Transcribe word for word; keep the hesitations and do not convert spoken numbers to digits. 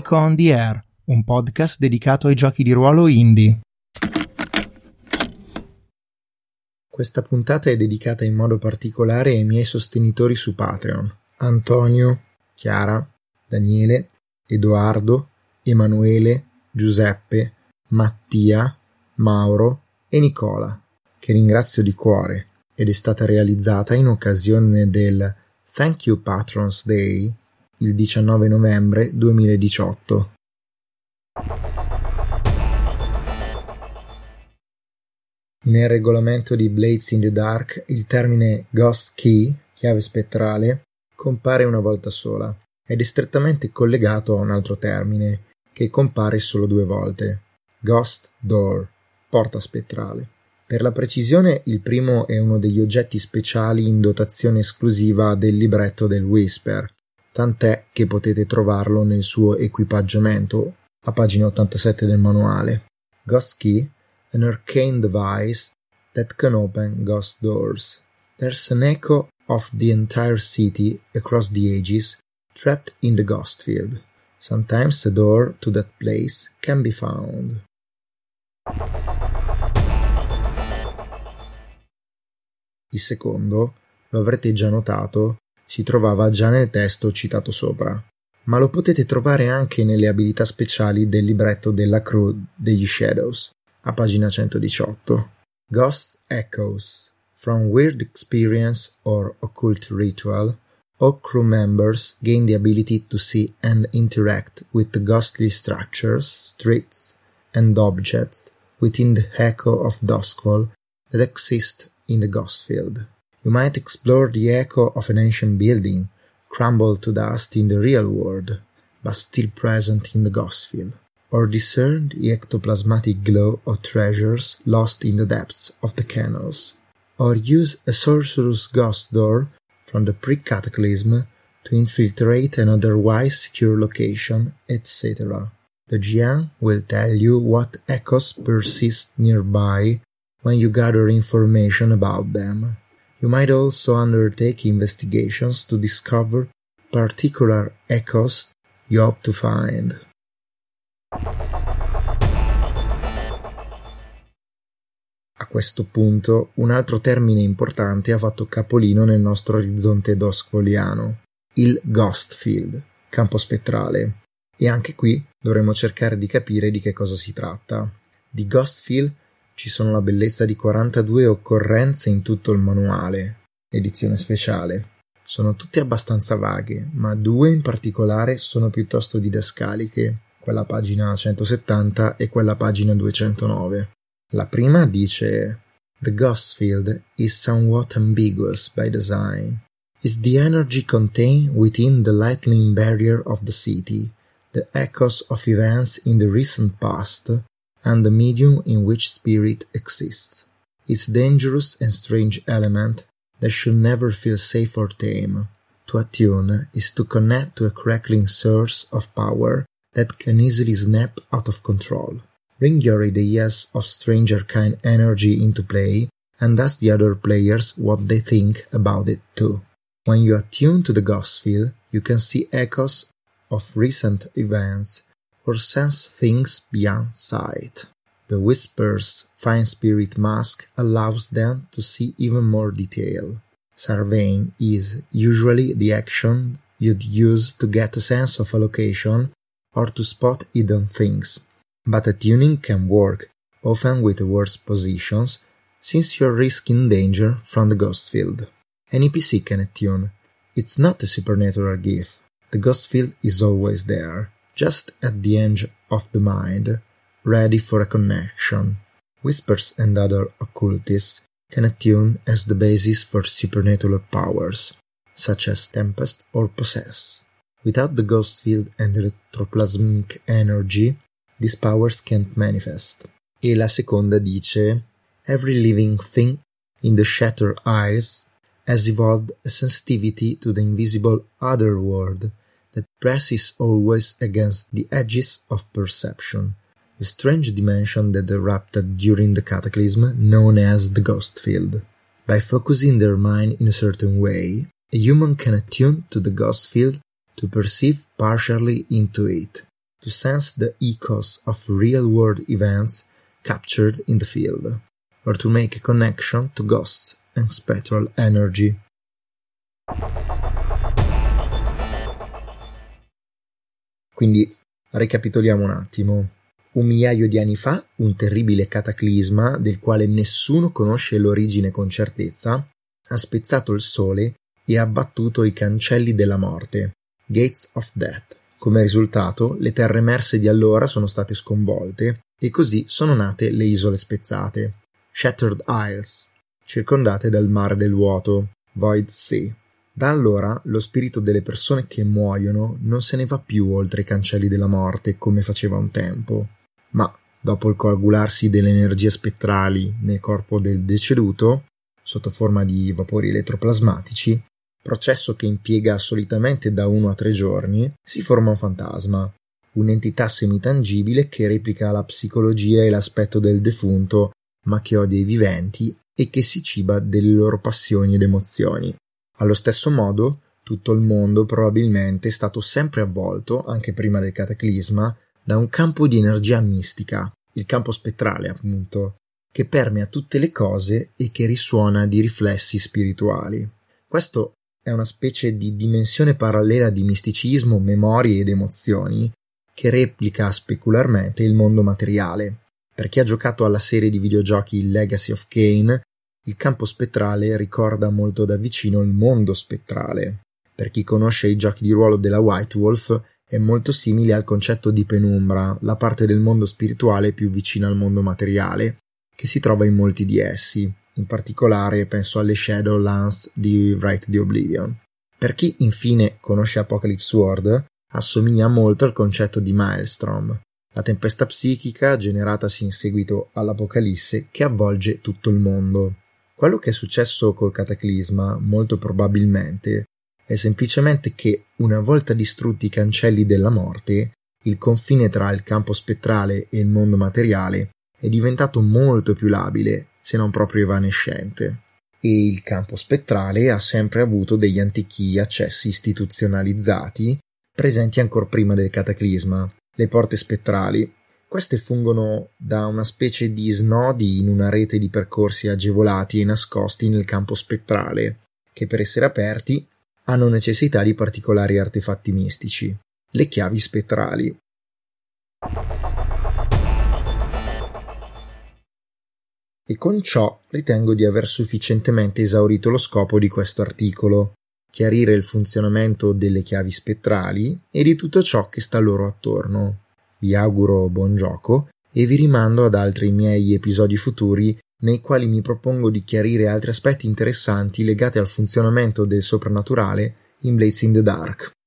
Nico on the Air, un podcast dedicato ai giochi di ruolo indie. Questa puntata è dedicata in modo particolare ai miei sostenitori su Patreon: Antonio, Chiara, Daniele, Edoardo, Emanuele, Giuseppe, Mattia, Mauro e Nicola, che ringrazio di cuore, ed è stata realizzata in occasione del Thank You Patrons Day il diciannove novembre duemiladiciotto. Nel regolamento di Blades in the Dark il termine Ghost Key, chiave spettrale, compare una volta sola ed è strettamente collegato a un altro termine che compare solo due volte: Ghost Door, porta spettrale. Per la precisione, il primo è uno degli oggetti speciali in dotazione esclusiva del libretto del Whisper, tant'è che potete trovarlo nel suo equipaggiamento a pagina ottantasette del manuale. Ghost Key, an arcane device that can open ghost doors. There's an echo of the entire city across the ages, trapped in the ghost field. Sometimes a door to that place can be found. Il secondo, lo avrete già notato, si trovava già nel testo citato sopra, ma lo potete trovare anche nelle abilità speciali del libretto della crew degli Shadows, a pagina centodiciotto. Ghost Echoes. From weird experience or occult ritual, all crew members gain the ability to see and interact with the ghostly structures, streets, and objects within the echo of Duskfall that exist in the ghost field. You might explore the echo of an ancient building, crumbled to dust in the real world, but still present in the ghost field, or discern the ectoplasmatic glow of treasures lost in the depths of the canals, or use a sorcerer's ghost door from the pre-cataclysm to infiltrate an otherwise secure location, et cetera. The G M will tell you what echoes persist nearby when you gather information about them. You might also undertake investigations to discover particular echoes you hope to find. A questo punto, un altro termine importante ha fatto capolino nel nostro orizzonte duskfalliano: il Ghost Field, campo spettrale. E anche qui dovremo cercare di capire di che cosa si tratta. Di Ghost Field ci sono la bellezza di quarantadue occorrenze in tutto il manuale, edizione speciale. Sono tutte abbastanza vaghe, ma due in particolare sono piuttosto didascaliche, quella pagina centosettanta e quella pagina duecentonove. La prima dice: The ghost field is somewhat ambiguous by design. It's the energy contained within the lightning barrier of the city, the echoes of events in the recent past, and the medium in which spirit exists. Its dangerous and strange element that should never feel safe or tame. To attune is to connect to a crackling source of power that can easily snap out of control. Bring your ideas of strange arcane energy into play and ask the other players what they think about it too. When you attune to the ghost field, you can see echoes of recent events or sense things beyond sight. The Whisper's fine spirit mask allows them to see even more detail. Surveying is usually the action you'd use to get a sense of a location or to spot hidden things, but attuning can work, often with worse positions, since you're risking danger from the ghost field. Any P C can attune. It's not a supernatural gift. The ghost field is always there, just at the edge of the mind, ready for a connection. Whispers and other occultists can attune as the basis for supernatural powers, such as Tempest or Possess. Without the ghost field and electroplasmic energy, these powers can't manifest. E la seconda dice: Every living thing in the Shattered Isles has evolved a sensitivity to the invisible other world that presses always against the edges of perception, the strange dimension that erupted during the cataclysm known as the ghost field. By focusing their mind in a certain way, a human can attune to the ghost field to perceive partially into it, to sense the echoes of real-world events captured in the field, or to make a connection to ghosts and spectral energy. Quindi ricapitoliamo un attimo. Un migliaio di anni fa, un terribile cataclisma, del quale nessuno conosce l'origine con certezza, ha spezzato il sole e ha abbattuto i cancelli della morte, Gates of Death. Come risultato, le terre emerse di allora sono state sconvolte e così sono nate le isole spezzate, Shattered Isles, circondate dal mare del vuoto, Void Sea. Da allora lo spirito delle persone che muoiono non se ne va più oltre i cancelli della morte come faceva un tempo, ma dopo il coagularsi delle energie spettrali nel corpo del deceduto, sotto forma di vapori elettroplasmatici, processo che impiega solitamente da uno a tre giorni, si forma un fantasma, un'entità semitangibile che replica la psicologia e l'aspetto del defunto, ma che odia i viventi e che si ciba delle loro passioni ed emozioni. Allo stesso modo, tutto il mondo probabilmente è stato sempre avvolto, anche prima del cataclisma, da un campo di energia mistica, il campo spettrale appunto, che permea tutte le cose e che risuona di riflessi spirituali. Questo è una specie di dimensione parallela di misticismo, memorie ed emozioni che replica specularmente il mondo materiale. Per chi ha giocato alla serie di videogiochi Legacy of Kain, il campo spettrale ricorda molto da vicino il mondo spettrale. Per chi conosce i giochi di ruolo della White Wolf, è molto simile al concetto di penumbra, la parte del mondo spirituale più vicina al mondo materiale, che si trova in molti di essi. In particolare penso alle Shadowlands di Wraith the Oblivion. Per chi infine conosce Apocalypse World, assomiglia molto al concetto di Maelstrom, la tempesta psichica generatasi in seguito all'Apocalisse che avvolge tutto il mondo. Quello che è successo col cataclisma, molto probabilmente, è semplicemente che, una volta distrutti i cancelli della morte, il confine tra il campo spettrale e il mondo materiale è diventato molto più labile, se non proprio evanescente. E il campo spettrale ha sempre avuto degli antichi accessi istituzionalizzati, presenti ancor prima del cataclisma, le porte spettrali. Queste fungono da una specie di snodi in una rete di percorsi agevolati e nascosti nel campo spettrale, che per essere aperti hanno necessità di particolari artefatti mistici, le chiavi spettrali. E con ciò ritengo di aver sufficientemente esaurito lo scopo di questo articolo, chiarire il funzionamento delle chiavi spettrali e di tutto ciò che sta loro attorno. Vi auguro buon gioco e vi rimando ad altri miei episodi futuri nei quali mi propongo di chiarire altri aspetti interessanti legati al funzionamento del soprannaturale in Blades in the Dark.